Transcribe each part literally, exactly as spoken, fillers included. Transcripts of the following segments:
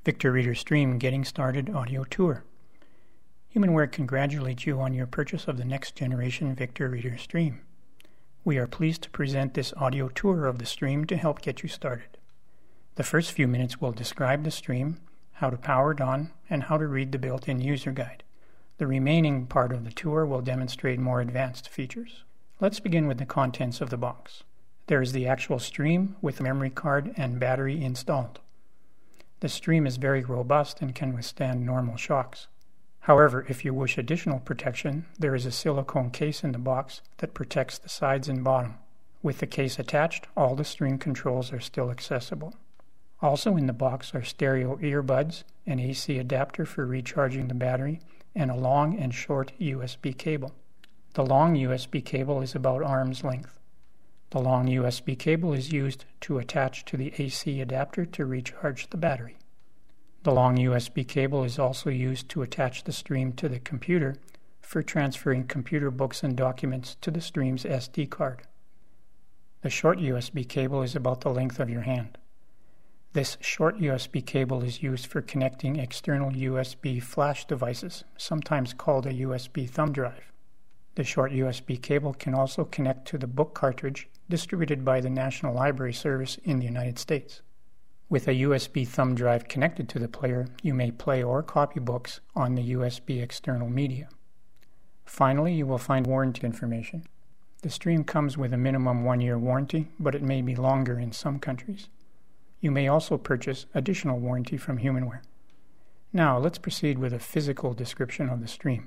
Victor Reader Stream Getting Started Audio Tour. HumanWare congratulates you on your purchase of the next generation Victor Reader Stream. We are pleased to present this audio tour of the stream to help get you started. The first few minutes will describe the stream, how to power it on, and how to read the built-in user guide. The remaining part of the tour will demonstrate more advanced features. Let's begin with the contents of the box. There is the actual stream with a memory card and battery installed. The stream is very robust and can withstand normal shocks. However, if you wish additional protection, there is a silicone case in the box that protects the sides and bottom. With the case attached, all the stream controls are still accessible. Also in the box are stereo earbuds, an A C adapter for recharging the battery, and a long and short U S B cable. The long U S B cable is about arm's length. The long U S B cable is used to attach to the A C adapter to recharge the battery. The long U S B cable is also used to attach the stream to the computer for transferring computer books and documents to the stream's S D card. The short U S B cable is about the length of your hand. This short U S B cable is used for connecting external U S B flash devices, sometimes called a U S B thumb drive. The short U S B cable can also connect to the book cartridge distributed by the National Library Service in the United States. With a U S B thumb drive connected to the player, you may play or copy books on the U S B external media. Finally, you will find warranty information. The stream comes with a minimum one-year warranty, but it may be longer in some countries. You may also purchase additional warranty from HumanWare. Now, let's proceed with a physical description of the stream.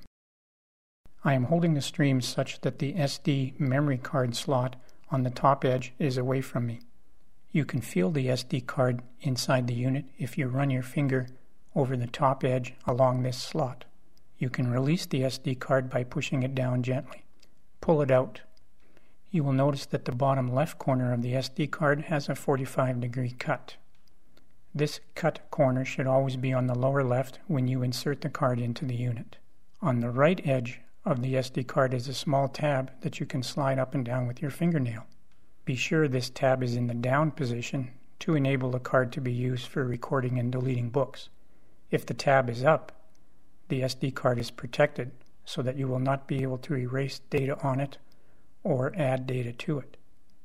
I am holding the stream such that the S D memory card slot on the top edge is away from me. You can feel the S D card inside the unit if you run your finger over the top edge along this slot. You can release the S D card by pushing it down gently. Pull it out. You will notice that the bottom left corner of the S D card has a forty-five degree cut. This cut corner should always be on the lower left when you insert the card into the unit. On the right edge of the S D card is a small tab that you can slide up and down with your fingernail. Be sure this tab is in the down position to enable the card to be used for recording and deleting books. If the tab is up, the S D card is protected so that you will not be able to erase data on it or add data to it.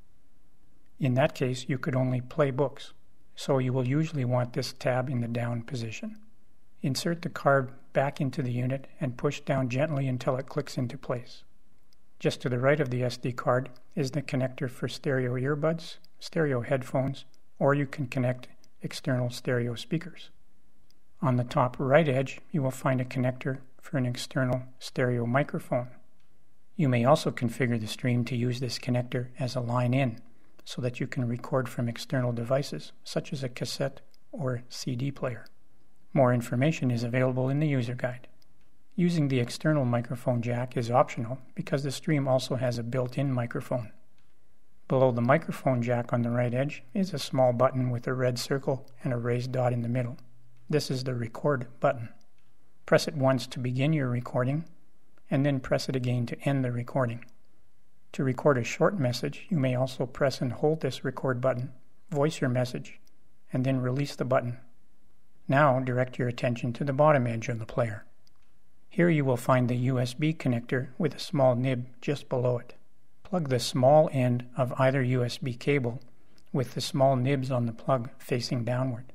In that case, you could only play books, so you will usually want this tab in the down position. Insert the card back into the unit and push down gently until it clicks into place. Just to the right of the S D card is the connector for stereo earbuds, stereo headphones, or you can connect external stereo speakers. On the top right edge, you will find a connector for an external stereo microphone. You may also configure the stream to use this connector as a line-in so that you can record from external devices, such as a cassette or C D player. More information is available in the user guide. Using the external microphone jack is optional because the stream also has a built-in microphone. Below the microphone jack on the right edge is a small button with a red circle and a raised dot in the middle. This is the record button. Press it once to begin your recording, and then press it again to end the recording. To record a short message, you may also press and hold this record button, voice your message, and then release the button. Now direct your attention to the bottom edge of the player. Here you will find the U S B connector with a small nib just below it. Plug the small end of either U S B cable with the small nibs on the plug facing downward.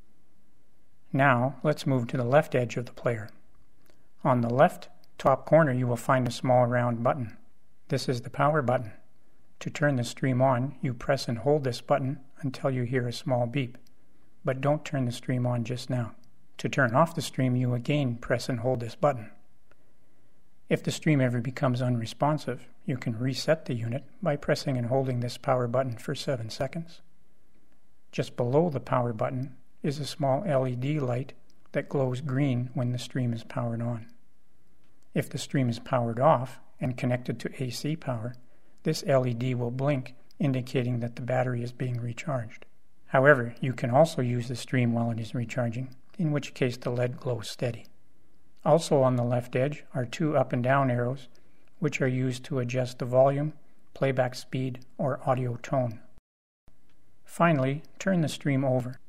Now let's move to the left edge of the player. On the left top corner you will find a small round button. This is the power button. To turn the stream on, you press and hold this button until you hear a small beep. But don't turn the stream on just now. To turn off the stream, you again press and hold this button. If the stream ever becomes unresponsive, you can reset the unit by pressing and holding this power button for seven seconds. Just below the power button is a small L E D light that glows green when the stream is powered on. If the stream is powered off and connected to A C power, this L E D will blink, indicating that the battery is being recharged. However, you can also use the stream while it is recharging, in which case the L E D glows steady. Also on the left edge are two up and down arrows, which are used to adjust the volume, playback speed, or audio tone. Finally, turn the stream over.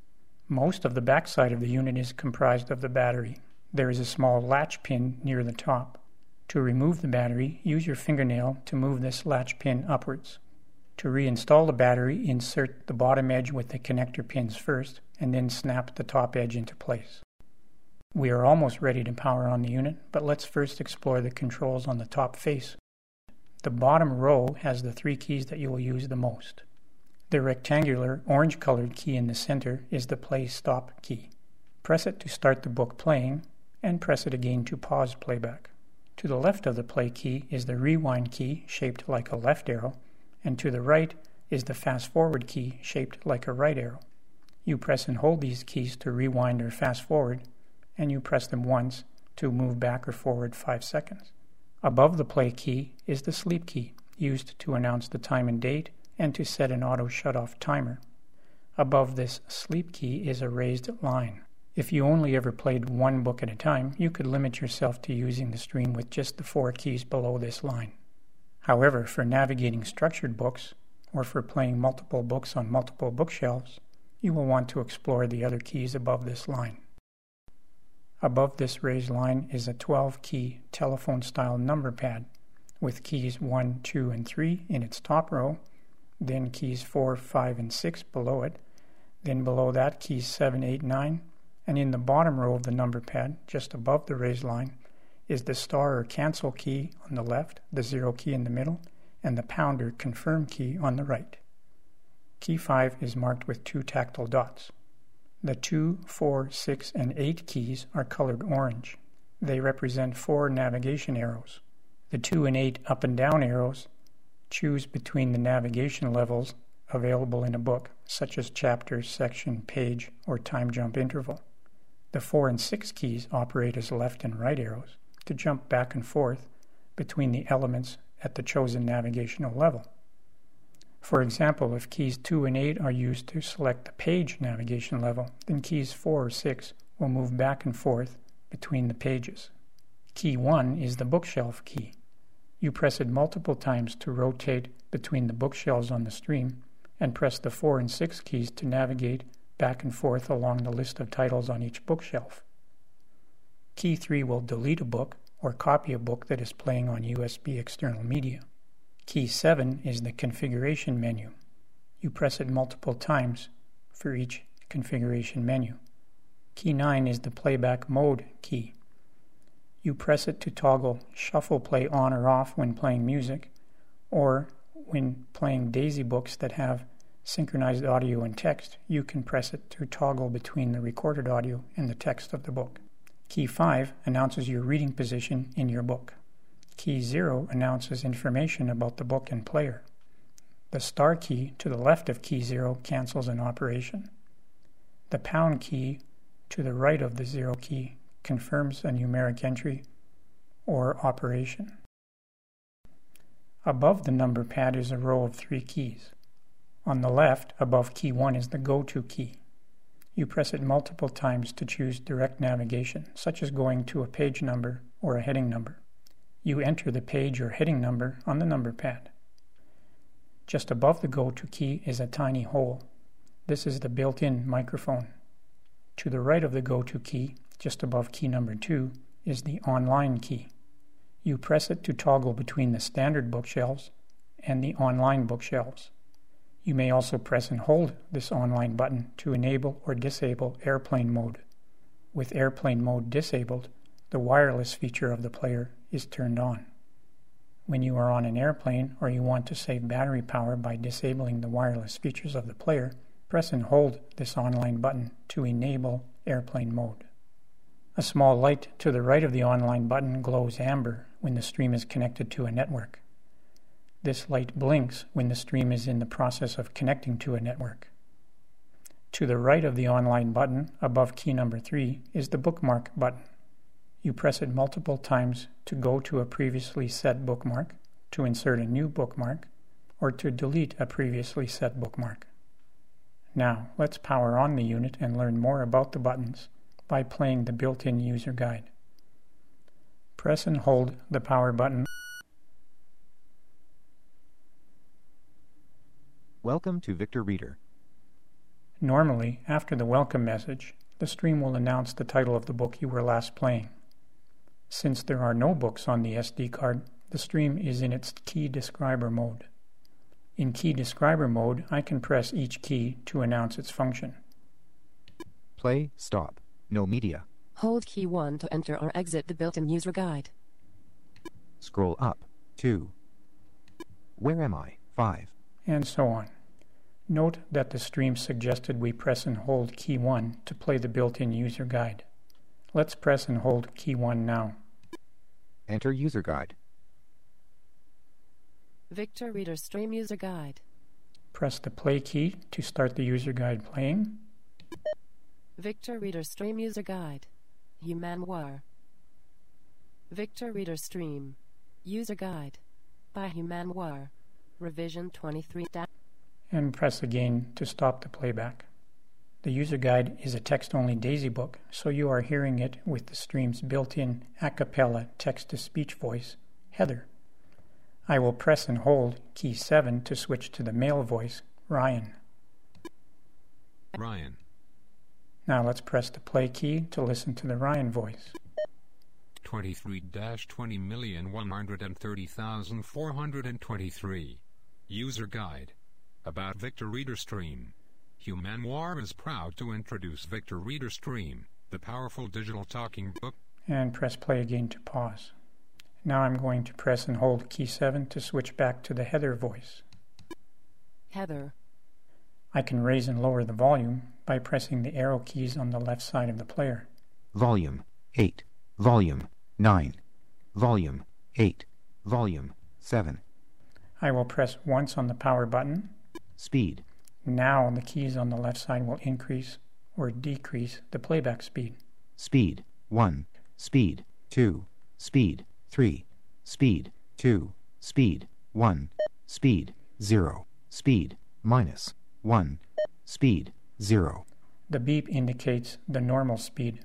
Most of the backside of the unit is comprised of the battery. There is a small latch pin near the top. To remove the battery, use your fingernail to move this latch pin upwards. To reinstall the battery, insert the bottom edge with the connector pins first, and then snap the top edge into place. We are almost ready to power on the unit, but let's first explore the controls on the top face. The bottom row has the three keys that you will use the most. The rectangular orange-colored key in the center is the play-stop key. Press it to start the book playing, and press it again to pause playback. To the left of the play key is the rewind key, shaped like a left arrow, and to the right is the fast-forward key, shaped like a right arrow. You press and hold these keys to rewind or fast-forward, and you press them once to move back or forward five seconds. Above the play key is the sleep key, used to announce the time and date and to set an auto shut-off timer. Above this sleep key is a raised line. If you only ever played one book at a time, you could limit yourself to using the stream with just the four keys below this line. However, for navigating structured books, or for playing multiple books on multiple bookshelves, you will want to explore the other keys above this line. Above this raised line is a twelve-key telephone-style number pad, with keys one, two, and three in its top row, then keys four, five, and six below it, then below that keys seven, eight, nine, and in the bottom row of the number pad, just above the raised line, is the star or cancel key on the left, the zero key in the middle, and the pound or confirm key on the right. Key five is marked with two tactile dots. The two, four, six, and eight keys are colored orange. They represent four navigation arrows. The two and eight up and down arrows choose between the navigation levels available in a book, such as chapter, section, page, or time jump interval. The four and six keys operate as left and right arrows to jump back and forth between the elements at the chosen navigational level. For example, if keys two and eight are used to select the page navigation level, then keys four or six will move back and forth between the pages. Key one is the bookshelf key. You press it multiple times to rotate between the bookshelves on the stream, and press the four and six keys to navigate back and forth along the list of titles on each bookshelf. Key three will delete a book or copy a book that is playing on U S B external media. Key seven is the configuration menu. You press it multiple times for each configuration menu. Key nine is the playback mode key. You press it to toggle shuffle play on or off when playing music, or when playing DAISY books that have synchronized audio and text, you can press it to toggle between the recorded audio and the text of the book. Key five announces your reading position in your book. Key zero announces information about the book and player. The star key to the left of key zero cancels an operation. The pound key to the right of the zero key confirms a numeric entry or operation. Above the number pad is a row of three keys. On the left, above key one, is the go-to key. You press it multiple times to choose direct navigation, such as going to a page number or a heading number. You enter the page or heading number on the number pad. Just above the go-to key is a tiny hole. This is the built-in microphone. To the right of the go-to key, just above key number two, is the online key. You press it to toggle between the standard bookshelves and the online bookshelves. You may also press and hold this online button to enable or disable airplane mode. With airplane mode disabled, the wireless feature of the player is turned on. When you are on an airplane or you want to save battery power by disabling the wireless features of the player, press and hold this online button to enable airplane mode. A small light to the right of the online button glows amber when the stream is connected to a network. This light blinks when the stream is in the process of connecting to a network. To the right of the online button, above key number three, is the bookmark button. You press it multiple times to go to a previously set bookmark, to insert a new bookmark, or to delete a previously set bookmark. Now, let's power on the unit and learn more about the buttons by playing the built-in user guide. Press and hold the power button. Welcome to Victor Reader. Normally, after the welcome message, the stream will announce the title of the book you were last playing. Since there are no books on the S D card, the stream is in its key describer mode. In key describer mode, I can press each key to announce its function. Play, stop, no media. Hold key one to enter or exit the built-in user guide. Scroll up, two. Where am I? five. And so on. Note that the stream suggested we press and hold key one to play the built-in user guide. Let's press and hold key one now. Enter user guide. Victor Reader Stream User Guide. Press the play key to start the user guide playing. Victor Reader Stream User Guide. Humanoir. Victor Reader Stream User Guide by Humanoir. Revision twenty-three. And press again to stop the playback. The user guide is a text-only DAISY book, so you are hearing it with the stream's built-in a cappella text-to-speech voice, Heather. I will press and hold key seven to switch to the male voice, Ryan. Ryan. Now let's press the play key to listen to the Ryan voice. twenty-three dash twenty million one hundred thirty thousand four hundred twenty-three. User Guide. About Victor Reader Stream. Humanoir is proud to introduce Victor Reader Stream, the powerful digital talking book. And press play again to pause. Now I'm going to press and hold key seven to switch back to the Heather voice. Heather. I can raise and lower the volume by pressing the arrow keys on the left side of the player. Volume, eight. Volume, nine. Volume, eight. Volume, seven. I will press once on the power button. Speed. Now the keys on the left side will increase or decrease the playback speed. Speed, one. Speed, two. Speed, three. Speed, two. Speed, one. Speed, zero. Speed, minus, one. Speed, zero. The beep indicates the normal speed.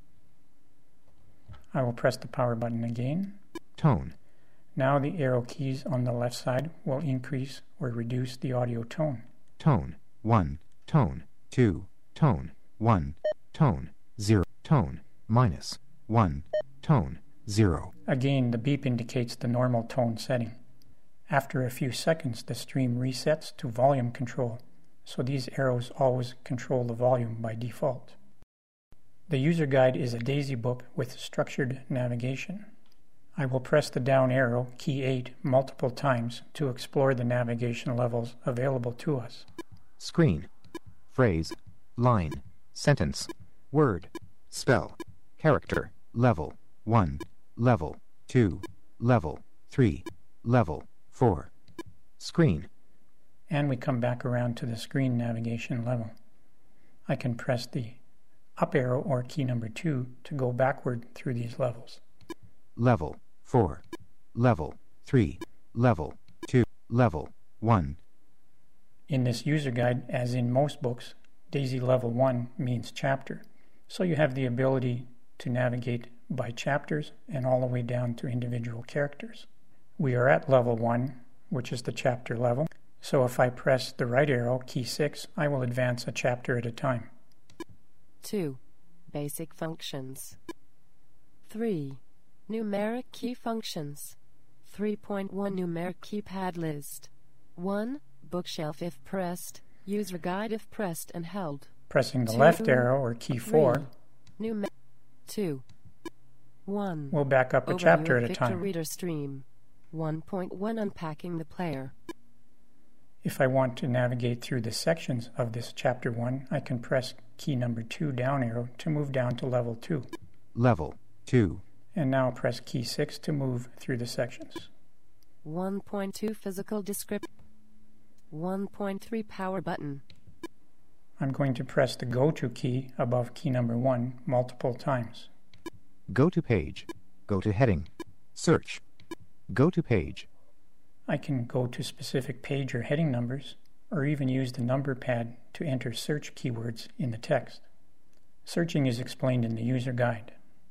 I will press the power button again. Tone. Now the arrow keys on the left side will increase or reduce the audio tone. Tone, one. Tone, two. Tone, one. Tone, zero. Tone, minus, one. Tone, zero. Again, the beep indicates the normal tone setting. After a few seconds, the stream resets to volume control, so these arrows always control the volume by default. The user guide is a DAISY book with structured navigation. I will press the down arrow, key eight, multiple times to explore the navigation levels available to us. Screen. Phrase. Line. Sentence. Word. Spell. Character. Level. one. Level. two. Level. three. Level. four. Screen. And we come back around to the screen navigation level. I can press the up arrow or key number two to go backward through these levels. Level. four. Level. three. Level. two. Level. one. In this user guide, as in most books, DAISY Level one means chapter, so you have the ability to navigate by chapters and all the way down to individual characters. We are at Level one, which is the chapter level, so if I press the right arrow, key six, I will advance a chapter at a time. two. Basic functions. three. Numeric key functions. three point one Numeric keypad list. one. Bookshelf if pressed. User guide if pressed and held. Pressing the Two, left arrow or key four Numer- two. one. will back up a Overview chapter of at a Victor time. Reader Stream. one point one Unpacking the player. If I want to navigate through the sections of this chapter one, I can press key number two down arrow to move down to level two. Level. two. And now press key six to move through the sections. one point two Physical Description. one point three Power button. I'm going to press the Go To key above key number one multiple times. Go to page. Go to heading. Search. Go to page. I can go to specific page or heading numbers, or even use the number pad to enter search keywords in the text. Searching is explained in the user guide.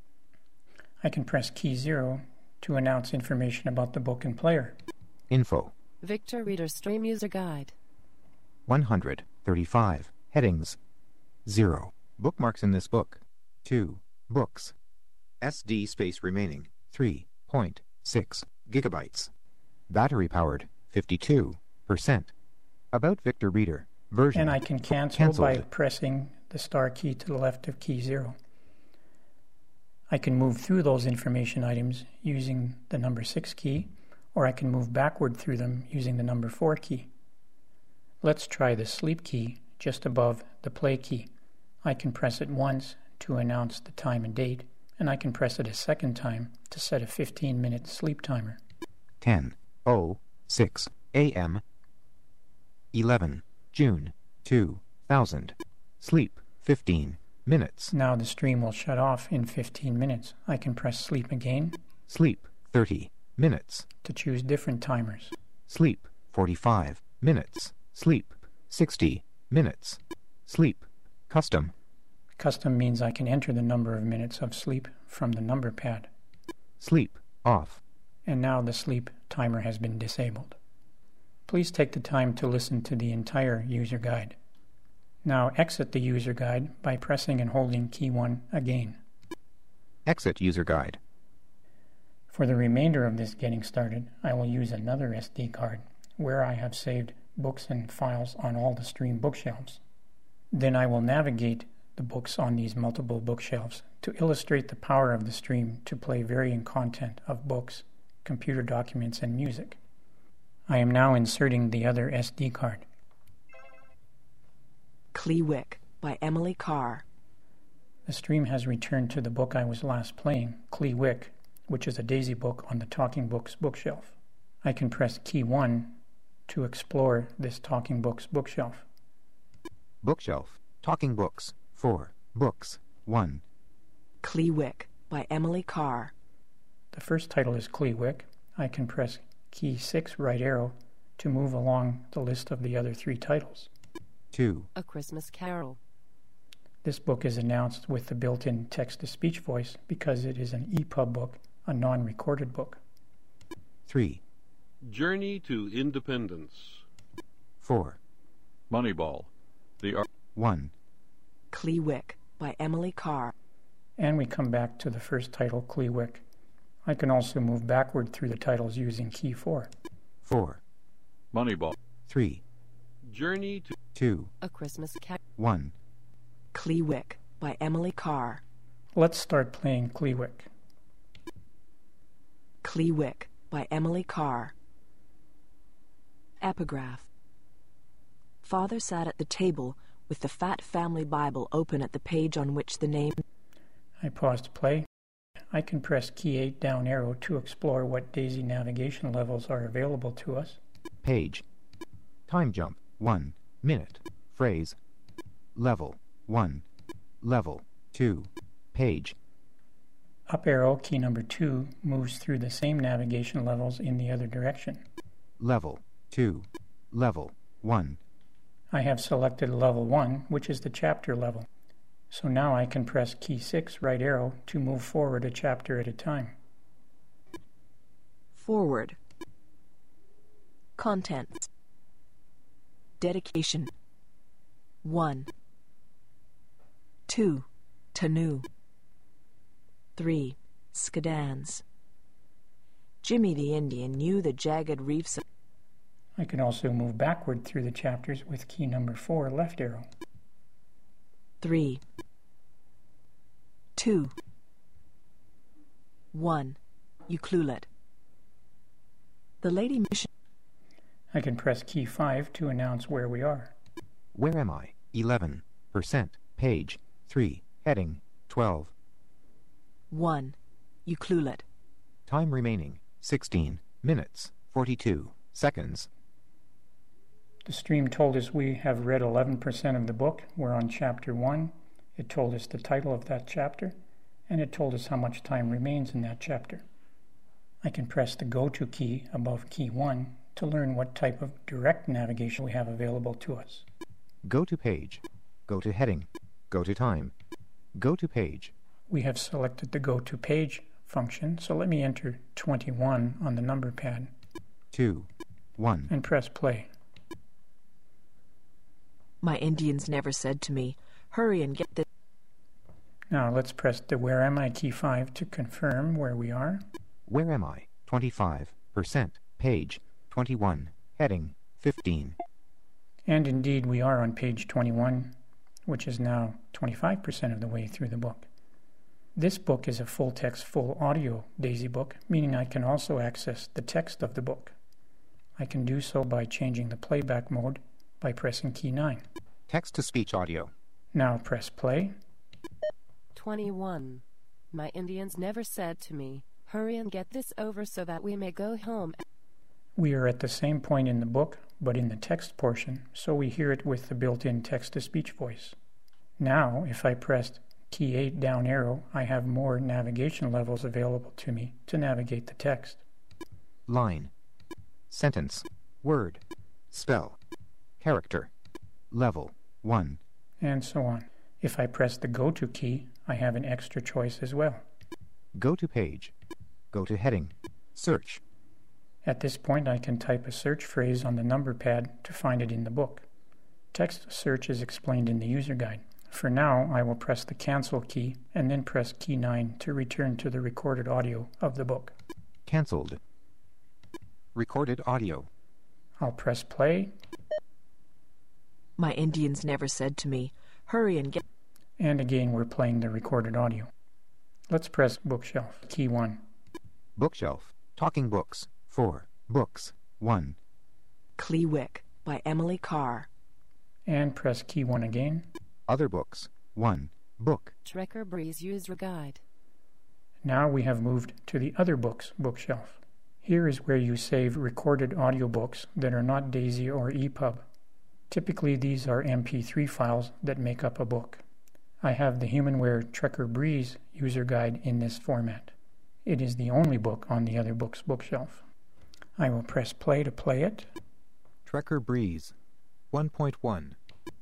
I can press key zero to announce information about the book and player. Info. Victor Reader Stream User Guide. one hundred thirty-five. Headings. zero. Bookmarks in this book. two. Books. S D space remaining. three point six gigabytes. Battery powered. fifty-two percent. About Victor Reader. Version. And I can cancel Cancelled. by pressing the star key to the left of key zero. I can move through those information items using the number six key, or I can move backward through them using the number four key. Let's try the sleep key just above the play key. I can press it once to announce the time and date, and I can press it a second time to set a fifteen minute sleep timer. ten oh six A M eleven June two thousand. Sleep fifteen minutes. Now the stream will shut off in fifteen minutes. I can press sleep again Sleep thirty minutes. to choose different timers. Sleep forty-five minutes. Sleep sixty minutes. Sleep custom. Custom means I can enter the number of minutes of sleep from the number pad. Sleep off. And now the sleep timer has been disabled. Please take the time to listen to the entire user guide. Now exit the user guide by pressing and holding key one again. Exit user guide. For the remainder of this getting started, I will use another S D card where I have saved books and files on all the stream bookshelves. Then I will navigate the books on these multiple bookshelves to illustrate the power of the stream to play varying content of books, computer documents, and music. I am now inserting the other S D card. Clewick by Emily Carr. The stream has returned to the book I was last playing, Clewick, which is a Daisy book on the Talking Books bookshelf. I can press key one to explore this Talking Books bookshelf. Bookshelf. Talking Books. four. Books. one. Clewick by Emily Carr. The first title is Clewick. I can press key six right arrow to move along the list of the other three titles. two. A Christmas Carol. This book is announced with the built-in text-to-speech voice because it is an E P U B book, a non-recorded book. three. Journey to Independence. four. Moneyball. The Ar- one. Clewick by Emily Carr. And we come back to the first title, Clewick. I can also move backward through the titles using key four. four. Moneyball. three. Journey to two. A Christmas Carol. one. Clewick by Emily Carr. Let's start playing Clewick. Clewick by Emily Carr. Epigraph. Father sat at the table with the fat family Bible open at the page on which the name... I pause to play. I can press key eight down arrow to explore what Daisy navigation levels are available to us. Page. Time jump. one. Minute. Phrase. Level. one. Level. two. Page. Up arrow, key number two, moves through the same navigation levels in the other direction. Level. two. Level. one. I have selected level one, which is the chapter level. So now I can press key six right arrow to move forward a chapter at a time. Forward. Contents. Dedication. one. two. Tanu. three. Skadans. Jimmy the Indian knew the jagged reefs of... I can also move backward through the chapters with key number four left arrow. three. two. one. Ucluelet. The Lady Mission. I can press key five to announce where we are. Where am I? eleven percent. Page. three. Heading. twelve. one. Ucluelet. Time remaining. sixteen minutes. forty-two seconds. The stream told us we have read eleven percent of the book. We're on chapter one. It told us the title of that chapter, and it told us how much time remains in that chapter. I can press the Go To key above key one to learn what type of direct navigation we have available to us. Go to page. Go to heading. Go to time. Go to page. We have selected the Go To Page function, so let me enter twenty-one on the number pad. two. one. And press play. My Indians never said to me, hurry and get this. Now let's press the Where Am I key five to confirm where we are. Where am I? twenty-five percent. Page twenty-one. Heading fifteen. And indeed we are on page twenty-one, which is now twenty-five percent of the way through the book. This book is a full-text, full-audio Daisy book, meaning I can also access the text of the book. I can do so by changing the playback mode by pressing key nine. Text-to-speech audio. Now press play. twenty-one. My Indians never said to me, hurry and get this over so that we may go home. We are at the same point in the book, but in the text portion, so we hear it with the built-in text-to-speech voice. Now, if I pressed key eight down arrow, I have more navigation levels available to me to navigate the text. Line. Sentence. Word. Spell. Character. Level. one. And so on. If I press the Go To key, I have an extra choice as well. Go to page. Go to heading. Search. At this point, I can type a search phrase on the number pad to find it in the book. Text search is explained in the user guide. For now, I will press the Cancel key and then press key nine to return to the recorded audio of the book. Cancelled. Recorded audio. I'll press play. My Indians never said to me, hurry and get. And again, we're playing the recorded audio. Let's press Bookshelf, key one. Bookshelf. Talking books. four. Books. one. Clewick by Emily Carr. And press key one again. Other books. one. Book. Trekker Breeze User Guide. Now we have moved to the Other Books bookshelf. Here is where you save recorded audiobooks that are not Daisy or E P U B. Typically these are M P three files that make up a book. I have the Humanware Trekker Breeze User Guide in this format. It is the only book on the Other Books bookshelf. I will press play to play it. Trekker Breeze. one point one.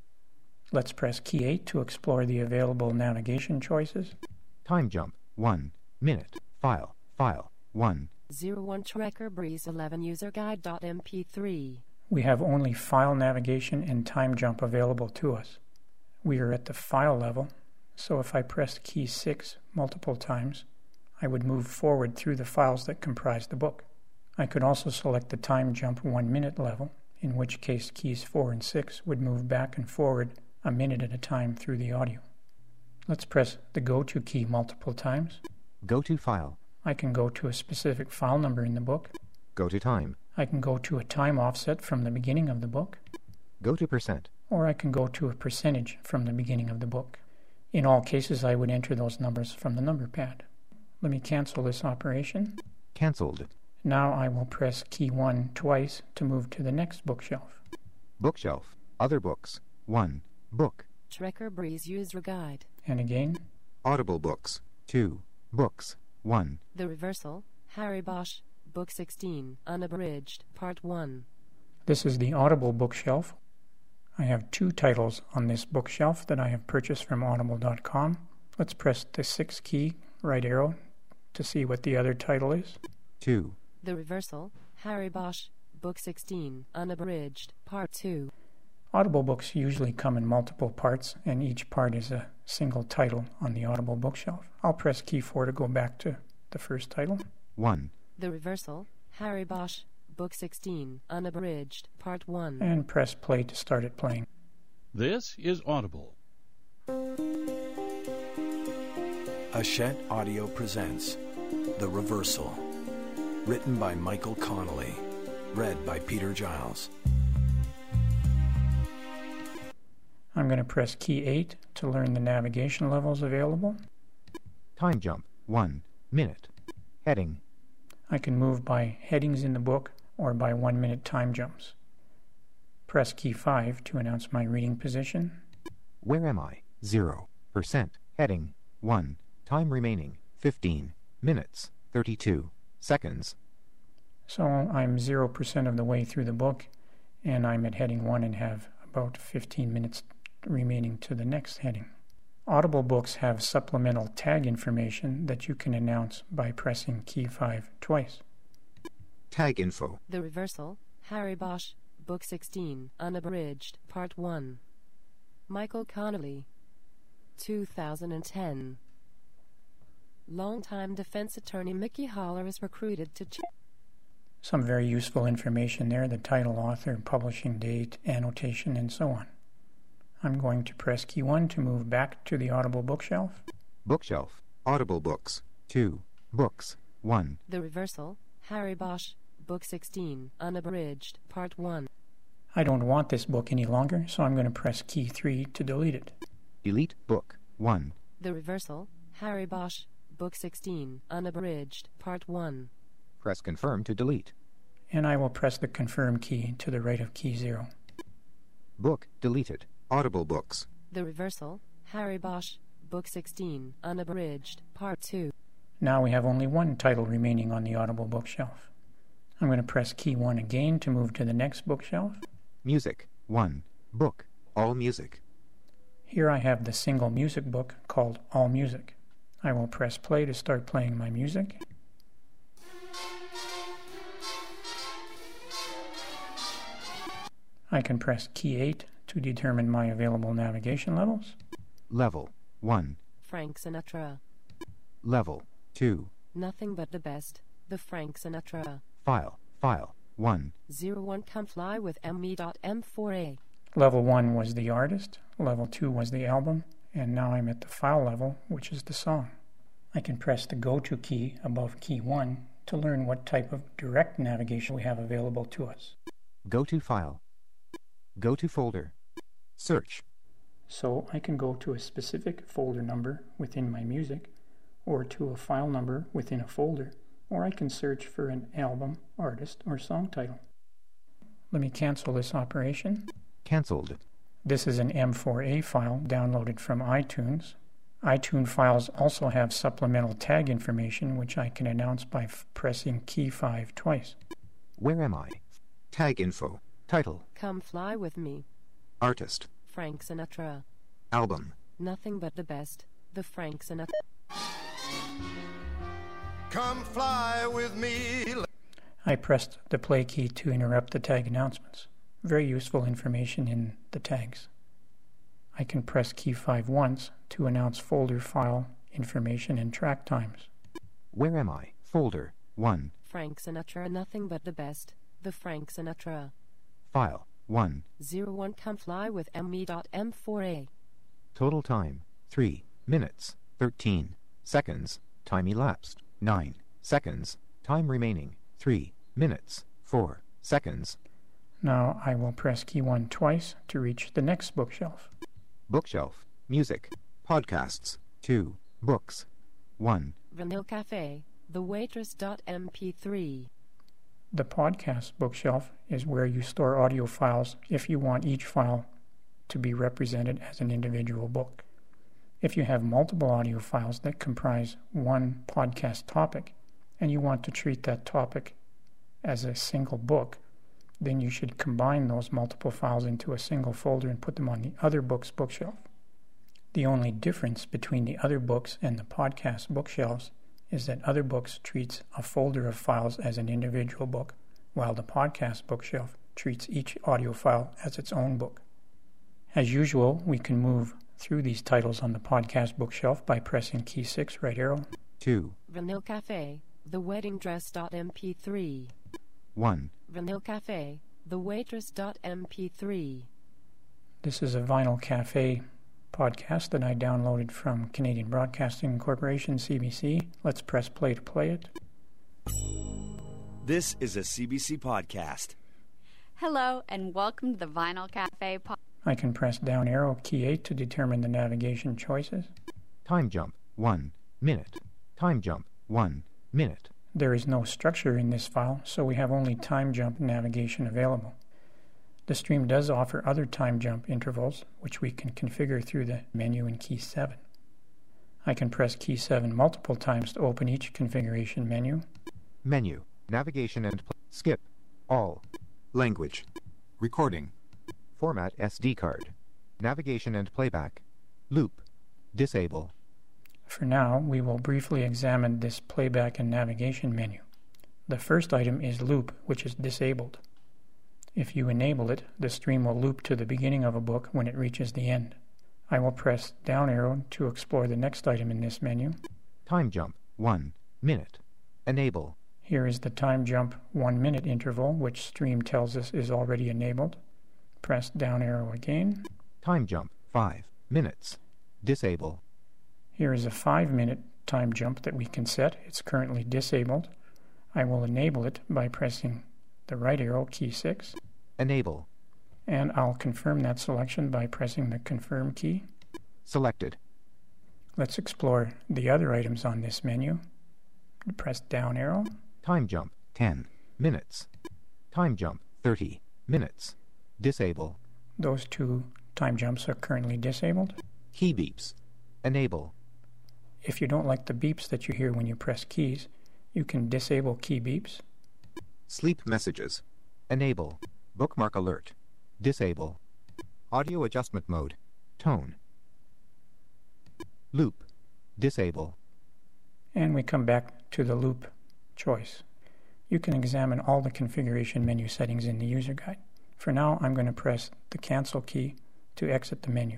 Let's press key eight to explore the available navigation choices. Time jump. one. Minute. File. File. one. zero one Trekker Breeze eleven User Guide dot M P three. We have only file navigation and time jump available to us. We are at the file level, so if I pressed key six multiple times, I would move forward through the files that comprise the book. I could also select the time jump one minute level, in which case keys four and six would move back and forward a minute at a time through the audio. Let's press the Go To key multiple times. Go to file. I can go to a specific file number in the book. Go to time. I can go to a time offset from the beginning of the book. Go to percent. Or I can go to a percentage from the beginning of the book. In all cases, I would enter those numbers from the number pad. Let me cancel this operation. Cancelled. Now I will press key one twice to move to the next bookshelf. Bookshelf. Other books. one. Book. Trekker Breeze User Guide. And again. Audible books. two. Books. one. The Reversal, Harry Bosch, Book sixteen, Unabridged, Part one. This is the Audible bookshelf. I have two titles on this bookshelf that I have purchased from audible dot com. Let's press the six key, right arrow, to see what the other title is. two. The Reversal, Harry Bosch, Book sixteen, Unabridged, Part two. Audible books usually come in multiple parts, and each part is a single title on the Audible bookshelf. I'll press key four to go back to the first title. one. The Reversal, Harry Bosch, Book sixteen, Unabridged, Part one. And press play to start it playing. This is Audible. Hachette Audio presents The Reversal. Written by Michael Connolly. Read by Peter Giles. I'm going to press key eight to learn the navigation levels available. Time jump. one. Minute. Heading. I can move by headings in the book or by one minute time jumps. Press key five to announce my reading position. Where am I? zero percent. Heading. one. Time remaining. fifteen. Minutes. thirty-two. Seconds. So I'm zero percent of the way through the book, and I'm at heading one and have about fifteen minutes remaining to the next heading. Audible books have supplemental tag information that you can announce by pressing key five twice. Tag info. The Reversal, Harry Bosch, Book sixteen, Unabridged, Part one. Michael Connolly. two thousand ten. Longtime defense attorney Mickey Haller is recruited to... Ch- Some very useful information there, the title, author, publishing date, annotation, and so on. I'm going to press key one to move back to the Audible bookshelf. Bookshelf. Audible books. two. Books. one. The Reversal, Harry Bosch, Book sixteen, Unabridged, Part one. I don't want this book any longer, so I'm going to press key three to delete it. Delete book. one. The Reversal, Harry Bosch, Book sixteen, Unabridged, Part one. Press confirm to delete. And I will press the confirm key to the right of key zero. Book deleted. Audible books. The Reversal, Harry Bosch, Book sixteen, Unabridged, Part two. Now we have only one title remaining on the Audible bookshelf. I'm going to press key one again to move to the next bookshelf. Music. one. Book. All music. Here I have the single music book called All Music. I will press play to start playing my music. I can press key eight to determine my available navigation levels. Level. one. Frank Sinatra. Level. two. Nothing but the best, the Frank Sinatra. File. File. one. zero one Come Fly with M E M four A. Level one was the artist, level two was the album, and now I'm at the file level, which is the song. I can press the Go To key above key one to learn what type of direct navigation we have available to us. Go to File. Go to Folder. Search. So I can go to a specific folder number within my music, or to a file number within a folder, or I can search for an album, artist, or song title. Let me cancel this operation. Cancelled. This is an M four A file downloaded from iTunes. iTunes files also have supplemental tag information, which I can announce by f- pressing key five twice. Where am I? Tag info. Title. Come Fly with Me. Artist. Frank Sinatra. Album. Nothing but the best, the Frank Sinatra. Come fly with me. I pressed the play key to interrupt the tag announcements. Very useful information in the tags. I can press key five once to announce folder file information and track times. Where am I? Folder. one. Frank Sinatra. Nothing but the best, the Frank Sinatra. File. one. zero one Come Fly with M E M four A. Total time. three minutes. thirteen seconds. Time elapsed. nine seconds. Time remaining. three minutes. four seconds. Now I will press key one twice to reach the next bookshelf. Bookshelf. Music. Podcasts. two. Books. one. Vanilla Cafe, The Waitress M P three. The podcast bookshelf is where you store audio files if you want each file to be represented as an individual book. If you have multiple audio files that comprise one podcast topic and you want to treat that topic as a single book, then you should combine those multiple files into a single folder and put them on the other books bookshelf. The only difference between the other books and the podcast bookshelves is that other books treats a folder of files as an individual book, while the podcast bookshelf treats each audio file as its own book. As usual, we can move through these titles on the podcast bookshelf by pressing key six right arrow. two. Vanilla Cafe, The Wedding Dress M P three. one. Vanilla Cafe, The Waitress M P three. This is a Vinyl Cafe podcast that I downloaded from Canadian Broadcasting Corporation, C B C. Let's press play to play it. This is a C B C podcast. Hello, and welcome to the Vinyl Cafe podcast. I can press down arrow key eight to determine the navigation choices. Time jump. one minute. Time jump. one minute. There is no structure in this file, so we have only time jump navigation available. The stream does offer other time jump intervals, which we can configure through the menu in key seven. I can press key seven multiple times to open each configuration menu. Menu. Navigation and pl- skip. All. Language. Recording. Format S D card. Navigation and playback. Loop. Disable. For now, we will briefly examine this playback and navigation menu. The first item is loop, which is disabled. If you enable it, the stream will loop to the beginning of a book when it reaches the end. I will press down arrow to explore the next item in this menu. Time jump, one minute. Enable. Here is the time jump one minute interval, which Stream tells us is already enabled. Press down arrow again. Time jump, five minutes. Disable. Here is a five minute time jump that we can set. It's currently disabled. I will enable it by pressing the right arrow, key six. Enable. And I'll confirm that selection by pressing the confirm key. Selected. Let's explore the other items on this menu. Press down arrow. Time jump, ten minutes. Time jump, thirty minutes. Disable. Those two time jumps are currently disabled. Key beeps. Enable. If you don't like the beeps that you hear when you press keys, you can disable key beeps. Sleep messages. Enable. Bookmark alert. Disable. Audio adjustment mode. Tone. Loop. Disable. And we come back to the loop choice. You can examine all the configuration menu settings in the user guide. For now, I'm going to press the cancel key to exit the menu.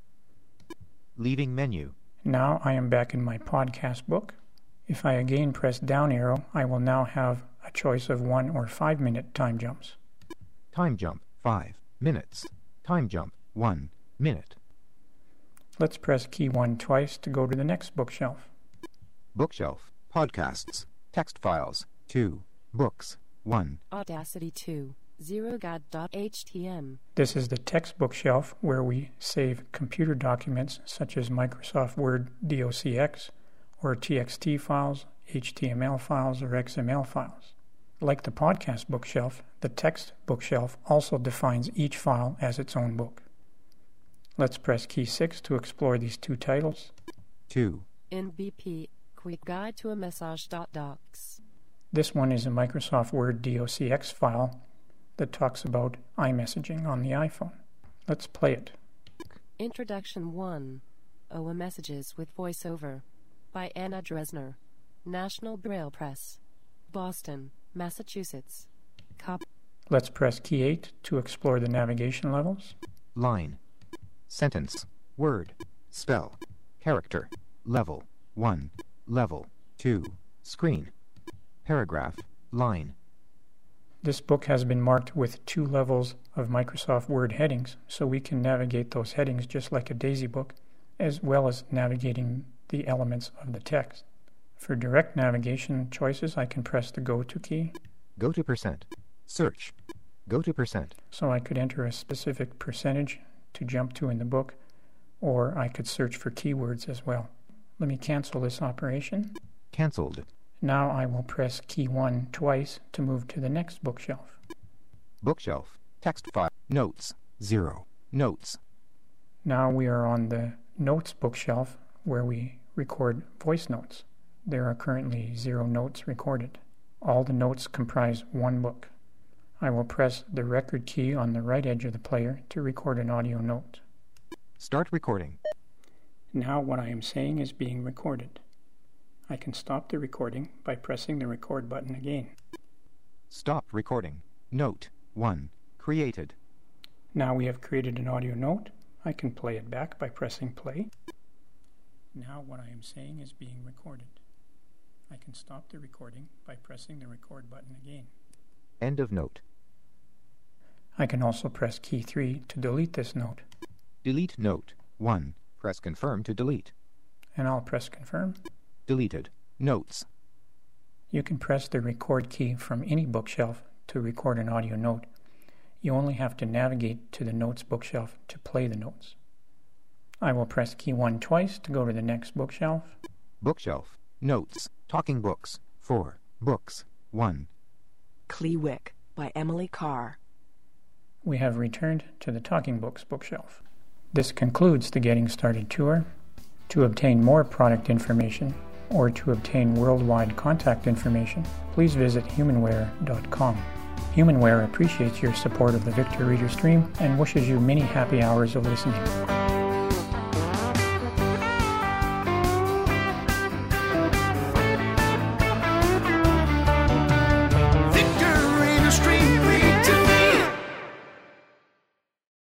Leaving menu. Now I am back in my podcast book. If I again press down arrow, I will now have a choice of one or five minute time jumps. Time jump, five minutes. Time jump, one minute. Let's press key one twice to go to the next bookshelf. Bookshelf, podcasts, text files, two, books, one. Audacity two, zero guide dot h t m. This is the text bookshelf where we save computer documents such as Microsoft Word docx or T X T files, H T M L files, or X M L files. Like the podcast bookshelf, the text bookshelf also defines each file as its own book. Let's press key six to explore these two titles. two. N B P, Quick Guide to a Message dot docs. This one is a Microsoft Word docx file that talks about iMessaging on the iPhone. Let's play it. Introduction one. O A Messages with Voiceover by Anna Dresner. National Braille Press. Boston, Massachusetts. Cop. Let's press key eight to explore the navigation levels. Line. Sentence. Word. Spell. Character. Level. one. Level. two. Screen. Paragraph. Line. This book has been marked with two levels of Microsoft Word headings, so we can navigate those headings just like a Daisy book, as well as navigating the elements of the text. For direct navigation choices, I can press the Go To key. Go to percent. Search. Go to percent. So I could enter a specific percentage to jump to in the book, or I could search for keywords as well. Let me cancel this operation. Cancelled. Now I will press key one twice to move to the next bookshelf. Bookshelf. Text file. Notes. zero. Notes. Now we are on the Notes bookshelf where we record voice notes. There are currently zero notes recorded. All the notes comprise one book. I will press the record key on the right edge of the player to record an audio note. Start recording. Now what I am saying is being recorded. I can stop the recording by pressing the record button again. Stop recording. Note one. Created. Now we have created an audio note. I can play it back by pressing play. Now what I am saying is being recorded. I can stop the recording by pressing the record button again. End of note. I can also press key three to delete this note. Delete note one. Press confirm to delete. And I'll press confirm. Deleted. Notes. You can press the record key from any bookshelf to record an audio note. You only have to navigate to the Notes bookshelf to play the notes. I will press key one twice to go to the next bookshelf. Bookshelf. Notes. Talking books. four. Books. one. Clewick by Emily Carr. We have returned to the Talking Books bookshelf. This concludes the Getting Started tour. To obtain more product information or to obtain worldwide contact information, please visit humanware dot com. Humanware appreciates your support of the Victor Reader Stream and wishes you many happy hours of listening.